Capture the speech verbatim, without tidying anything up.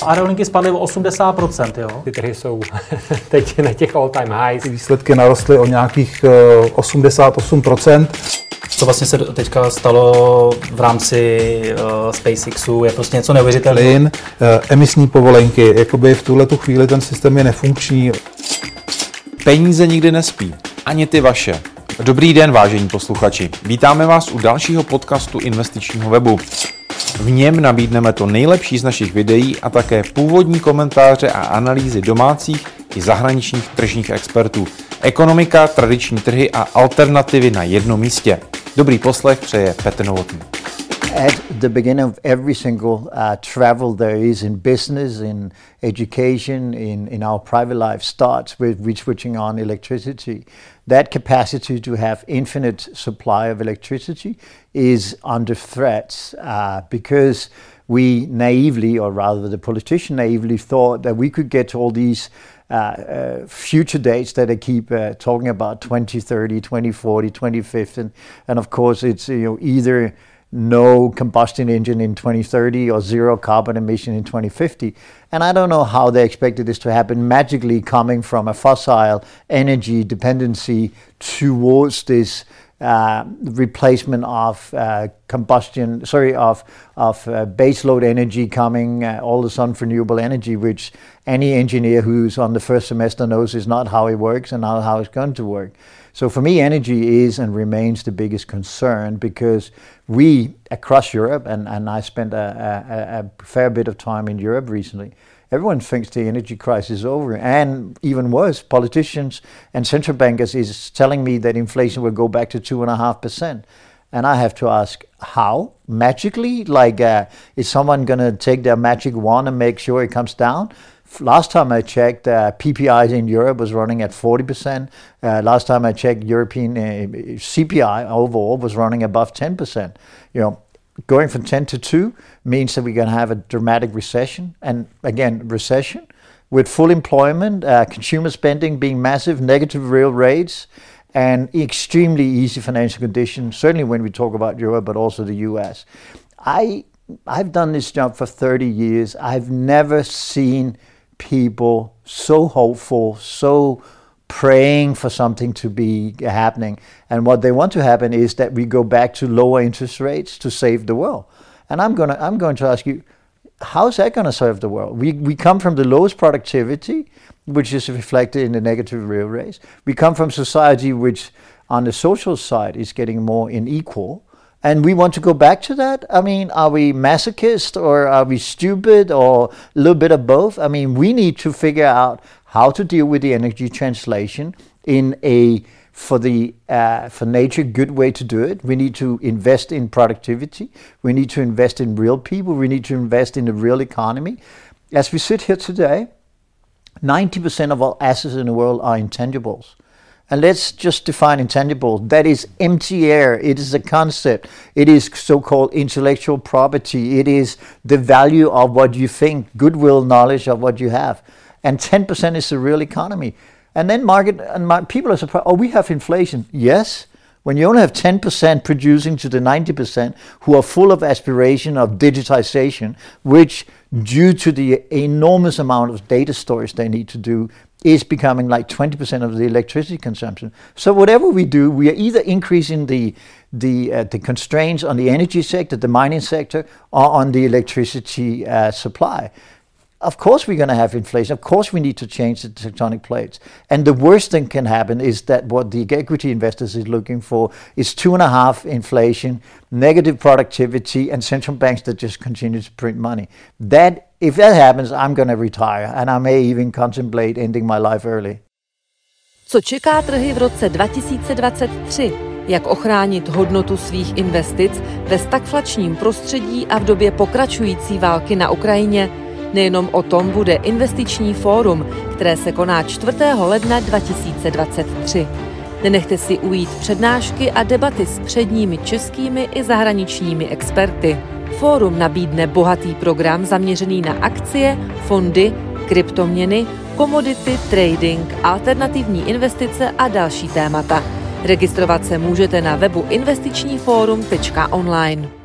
Aerolinky spadly o osmdesát procent, jo? Ty trhy jsou teď na těch all time highs. Výsledky narostly o nějakých osmdesát osm procent. Co vlastně se teďka stalo v rámci uh, SpaceXu, je prostě něco neuvěřitelného. Plyn, uh, emisní povolenky, jakoby v tuhletu chvíli ten systém je nefunkční. Peníze nikdy nespí, ani ty vaše. Dobrý den, vážení posluchači. Vítáme vás u dalšího podcastu investičního webu. V něm nabídneme to nejlepší z našich videí a také původní komentáře a analýzy domácích i zahraničních tržních expertů. Ekonomika, tradiční trhy a alternativy na jednom místě. Dobrý poslech přeje Petr Novotný. At the beginning of every single uh, travel there is in business, in education, in, in our private life starts with we switching on electricity. That capacity to have infinite supply of electricity is under threat uh, because we naively, or rather the politician naively, thought that we could get to all these Uh, uh, future dates that they keep uh, talking about, twenty thirty, twenty forty, twenty fifty, and, and of course it's you know either no combustion engine in twenty thirty or zero carbon emission in twenty fifty. And I don't know how they expected this to happen magically coming from a fossil energy dependency towards this Uh, replacement of uh, combustion, sorry, of of uh, baseload energy coming, uh, all of a sudden renewable energy, which any engineer who's on the first semester knows is not how it works and not how it's going to work. So for me, energy is and remains the biggest concern because we, across Europe, and, and I spent a, a, a fair bit of time in Europe recently, everyone thinks the energy crisis is over, and even worse, politicians and central bankers is telling me that inflation will go back to two and a half percent. And I have to ask, how? Magically? Like, uh, is someone going to take their magic wand and make sure it comes down? Last time I checked, uh, P P Is in Europe was running at forty percent. Uh, last time I checked, European uh, C P I overall was running above ten percent. You know, going from ten to two means that we're going to have a dramatic recession. And again, recession with full employment, uh, consumer spending being massive, negative real rates, and extremely easy financial conditions, certainly when we talk about Europe, but also the U S. I, I've done this job for thirty years. I've never seen people so hopeful, so praying for something to be happening. And what they want to happen is that we go back to lower interest rates to save the world. And I'm gonna I'm going to ask you, how's that going to serve the world? We we come from the lowest productivity, which is reflected in the negative real rates. We come from society which on the social side is getting more unequal. And we want to go back to that? I mean, are we masochists or are we stupid or a little bit of both? I mean, we need to figure out how to deal with the energy translation in a, for the uh, for nature, good way to do it. We need to invest in productivity. We need to invest in real people. We need to invest in the real economy. As we sit here today, ninety percent of all assets in the world are intangibles. And let's just define intangible. That is empty air. It is a concept. It is so-called intellectual property. It is the value of what you think, goodwill, knowledge of what you have. And ten percent is the real economy. And then market and my, people are surprised, oh, we have inflation. Yes, when you only have ten percent producing to the ninety percent who are full of aspiration of digitization, which due to the enormous amount of data storage they need to do, is becoming like twenty percent of the electricity consumption. So whatever we do, we are either increasing the the uh, the constraints on the energy sector, the mining sector, or on the electricity uh, supply. Of course we're going to have inflation. Of course we need to change the tectonic plates. And the worst thing can happen is that what the equity investors is looking for is two and a half inflation, negative productivity, and central banks that just continue to print money. That, if that happens, I'm going to retire, and I may even contemplate ending my life early. Co čeká trhy v roce dva tisíce dvacet tři? Jak ochránit hodnotu svých investic ve stagflačním prostředí a v době pokračující války na Ukrajině? Nejenom o tom bude investiční fórum, které se koná čtvrtého ledna dva tisíce dvacet tři. Nenechte si ujít přednášky a debaty s předními českými i zahraničními experty. Fórum nabídne bohatý program zaměřený na akcie, fondy, kryptoměny, komodity, trading, alternativní investice a další témata. Registrovat se můžete na webu investiční fórum tečka online.